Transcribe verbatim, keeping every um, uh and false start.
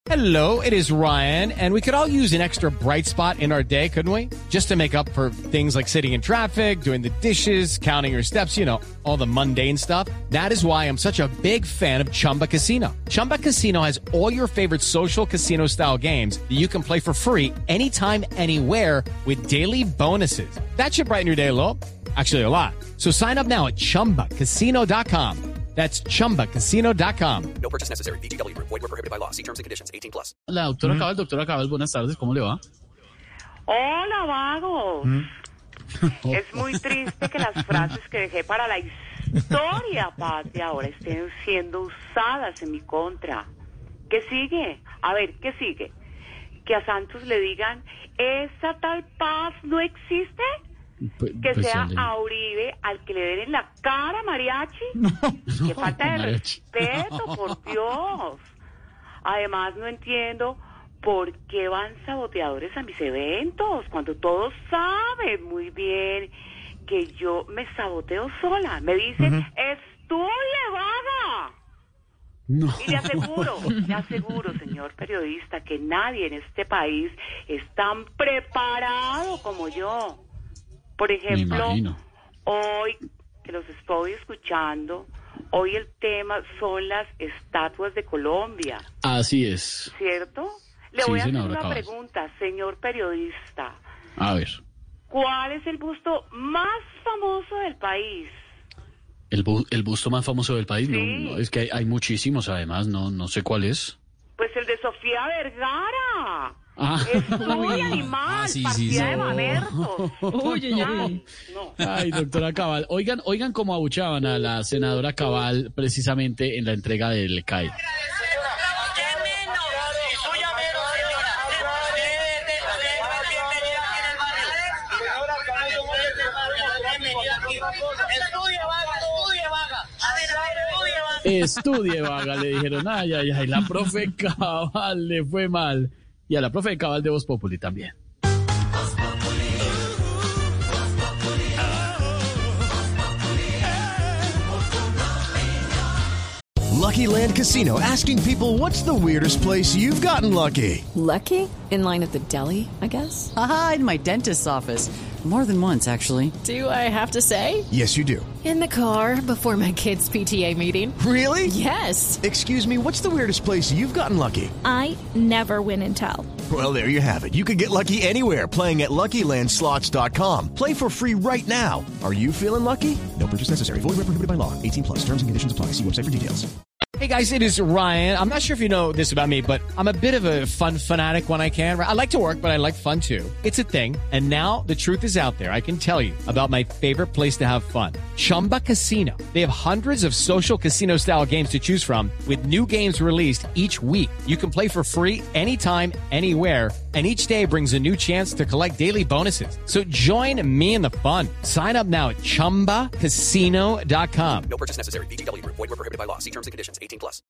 Hello, it is Ryan, and we could all use an extra bright spot in our day, couldn't we? Just to make up for things like sitting in traffic, doing the dishes, counting your steps, you know, all the mundane stuff. That is why I'm such a big fan of Chumba Casino. Chumba Casino has all your favorite social casino-style games that you can play for free anytime, anywhere with daily bonuses. That should brighten your day a little. Actually, a lot. So sign up now at chumba casino dot com. That's chumba casino dot com. No purchase necessary. V G W Group. Void where prohibited by law. See terms and conditions. eighteen plus. La doctora Cabal, doctora Cabal, buenas tardes, ¿cómo le va? Hola, vagos. ¿Mm? Es muy triste que las frases que dejé para la historia patria ahora estén siendo usadas en mi contra. ¿Qué sigue? A ver, ¿qué sigue? Que a Santos le digan, ¿esa tal paz no existe? Pues, que pues sea a Uribe al que le den en la cara mariachi. No, no, qué falta de mariachi. Respeto, por Dios. Además no entiendo por qué van saboteadores a mis eventos cuando todos saben muy bien que yo me saboteo sola. Me dicen, uh-huh. Estudie, vaga. No. Y le aseguro, le aseguro, señor periodista, que nadie en este país es tan preparado como yo. Por ejemplo, hoy que los estoy escuchando, hoy el tema son las estatuas de Colombia. Así es. ¿Cierto? Le sí, voy a hacer una Cabal. pregunta, señor periodista. A ver. ¿Cuál es el busto más famoso del país? ¿El, bu el busto más famoso del país? Sí. No, no, es que hay, hay muchísimos, además, no, no sé cuál es. Pues el de Sofía Vergara. Ah. Es muy animal, ah, sí, partida sí, sí. de mamertos. Uy, no, uy. no. Ay, doctora Cabal, oigan, oigan cómo abuchaban a la senadora Cabal precisamente en la entrega del C A I. Estudie, vaga, le dijeron, ay, ay, ay, la profe Cabal le fue mal. Y a la profe Cabal de Voz Populi también. Lucky Land Casino, asking people, what's the weirdest place you've gotten lucky? Lucky? In line at the deli, I guess? Aha, in my dentist's office. More than once, actually. Do I have to say? Yes, you do. In the car before my kids' P T A meeting. Really? Yes. Excuse me, what's the weirdest place you've gotten lucky? I never win and tell. Well, there you have it. You can get lucky anywhere, playing at Lucky Land Slots dot com. Play for free right now. Are you feeling lucky? No purchase necessary. Void where prohibited by law. eighteen plus. Terms and conditions apply. See website for details. Hey guys, it is Ryan. I'm not sure if you know this about me, but I'm a bit of a fun fanatic when I can. I like to work, but I like fun too. It's a thing. And now the truth is out there. I can tell you about my favorite place to have fun. Chumba Casino. They have hundreds of social casino style games to choose from with new games released each week. You can play for free anytime, anywhere. And each day brings a new chance to collect daily bonuses. So join me in the fun. Sign up now at chumba casino dot com. No purchase necessary. V G W Group. Void where prohibited by law. See terms and conditions. eighteen plus.